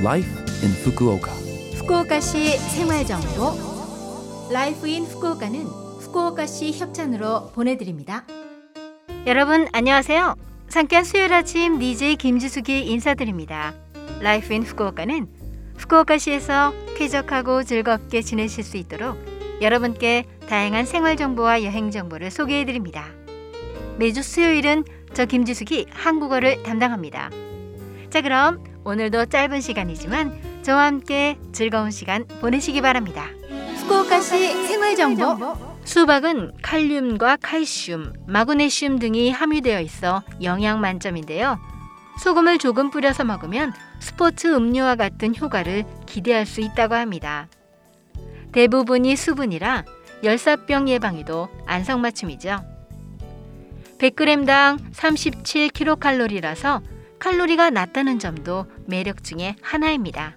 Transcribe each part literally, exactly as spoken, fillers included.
Life in Fukuoka. 후쿠오카시 생활정보 라이프 인 후쿠오카는 후쿠오카시 협찬으로 보내드립니다. 여러분 안녕하세요. 상쾌한 수요일 아침 디제이 김지숙이 인사드립니다. 라이프 인 후쿠오카는 후쿠오카시에서 쾌적하고 즐겁게 지내실 수 있도록 여러분께 다양한 생활정보와 여행정보를 소개해드립니다. 매주 수요일은 저 김지숙이 한국어를 담당합니다. 자, 그럼 오늘도 짧은 시간이지만 저와 함께 즐거운 시간 보내시기 바랍니다. 후쿠오카시 생활정보. 수박은 칼륨과 칼슘, 마그네슘 등이 함유되어 있어 영양 만점인데요. 소금을 조금 뿌려서 먹으면 스포츠 음료와 같은 효과를 기대할 수 있다고 합니다. 대부분이 수분이라 열사병 예방에도 안성맞춤이죠. 백 그램당 삼십칠 킬로칼로리라서 칼로리가 낮다는 점도 매력 중에 하나입니다.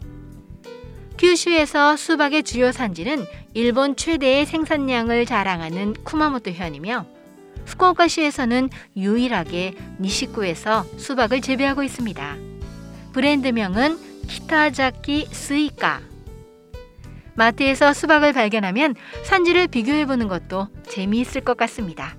큐슈에서 수박의 주요 산지는 일본 최대의 생산량을 자랑하는 쿠마모토현이며 후쿠오카시에서는 유일하게 니시쿠에서 수박을 재배하고 있습니다. 브랜드명은 키타자키 스이카. 마트에서 수박을 발견하면 산지를 비교해보는 것도 재미있을 것 같습니다.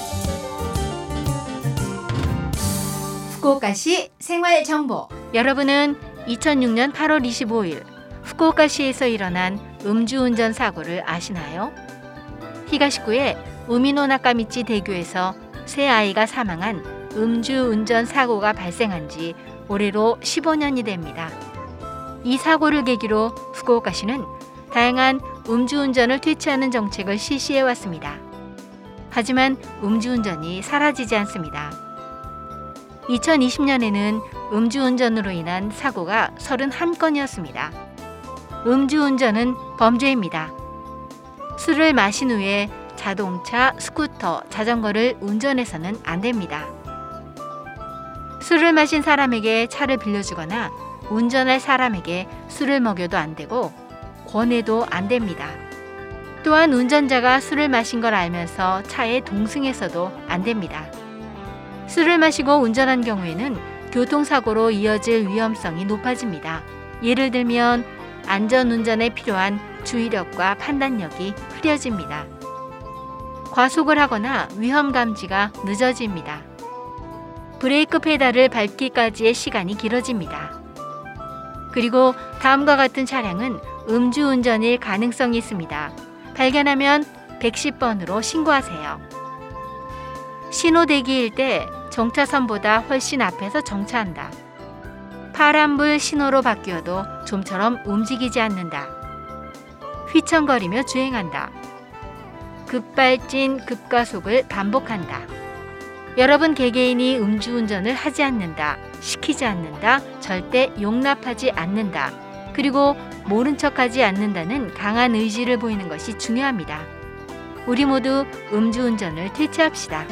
후쿠오카시 생활정보. 여러분은 이천육 년 팔월 이십오일 후쿠오카시에서 일어난 음주운전 사고를 아시나요? 히가시쿠의 우미노 나카미치 대교에서 세 아이가 사망한 음주운전 사고가 발생한 지 올해로 십오 년이 됩니다. 이 사고를 계기로 후쿠오카시는 다양한 음주운전을 퇴치하는 정책을 실시해왔습니다. 하지만 음주운전이 사라지지 않습니다. 이천이십 년에는 음주운전으로 인한 사고가 삼십일 건이었습니다. 음주운전은 범죄입니다. 술을 마신 후에 자동차, 스쿠터, 자전거를 운전해서는 안 됩니다. 술을 마신 사람에게 차를 빌려주거나 운전할 사람에게 술을 먹여도 안 되고 권해도 안 됩니다. 또한 운전자가 술을 마신 걸 알면서 차에 동승해서도 안 됩니다. 술을 마시고 운전한 경우에는 교통사고로 이어질 위험성이 높아집니다. 예를 들면 안전운전에 필요한 주의력과 판단력이 흐려집니다. 과속을 하거나 위험 감지가 늦어집니다. 브레이크 페달을 밟기까지의 시간이 길어집니다. 그리고 다음과 같은 차량은 음주운전일 가능성이 있습니다. 발견하면 백십 번으로 신고하세요. 신호 대기일 때 정차선보다 훨씬 앞에서 정차한다. 파란불 신호로 바뀌어도 좀처럼 움직이지 않는다. 휘청거리며 주행한다. 급발진, 급가속을 반복한다. 여러분 개개인이 음주운전을 하지 않는다, 시키지 않는다, 절대 용납하지 않는다, 그리고 모른 척하지 않는다는 강한 의지를 보이는 것이 중요합니다. 우리 모두 음주운전을 퇴치합시다.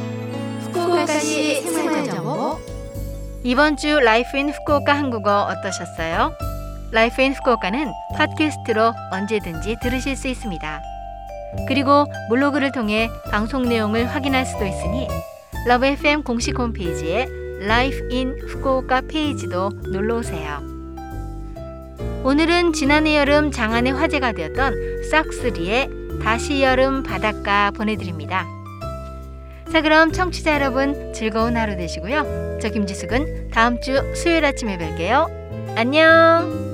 후쿠오카시 생활정보. 이번 주 라이프 인 후쿠오카 한국어 어떠셨어요? 라이프 인 후쿠오카는 팟캐스트로 언제든지 들으실 수 있습니다. 그리고 블로그를 통해 방송 내용을 확인할 수도 있으니 러브 에프엠 공식 홈페이지에 라이프 인 후쿠오카 페이지도 놀러오세요. 오늘은 지난해 여름 장안의 화제가 되었던 싹쓰리의 다시 여름 바닷가 보내드립니다. 자, 그럼 청취자 여러분 즐거운 하루 되시고요. 저 김지숙은 다음 주 수요일 아침에 뵐게요. 안녕.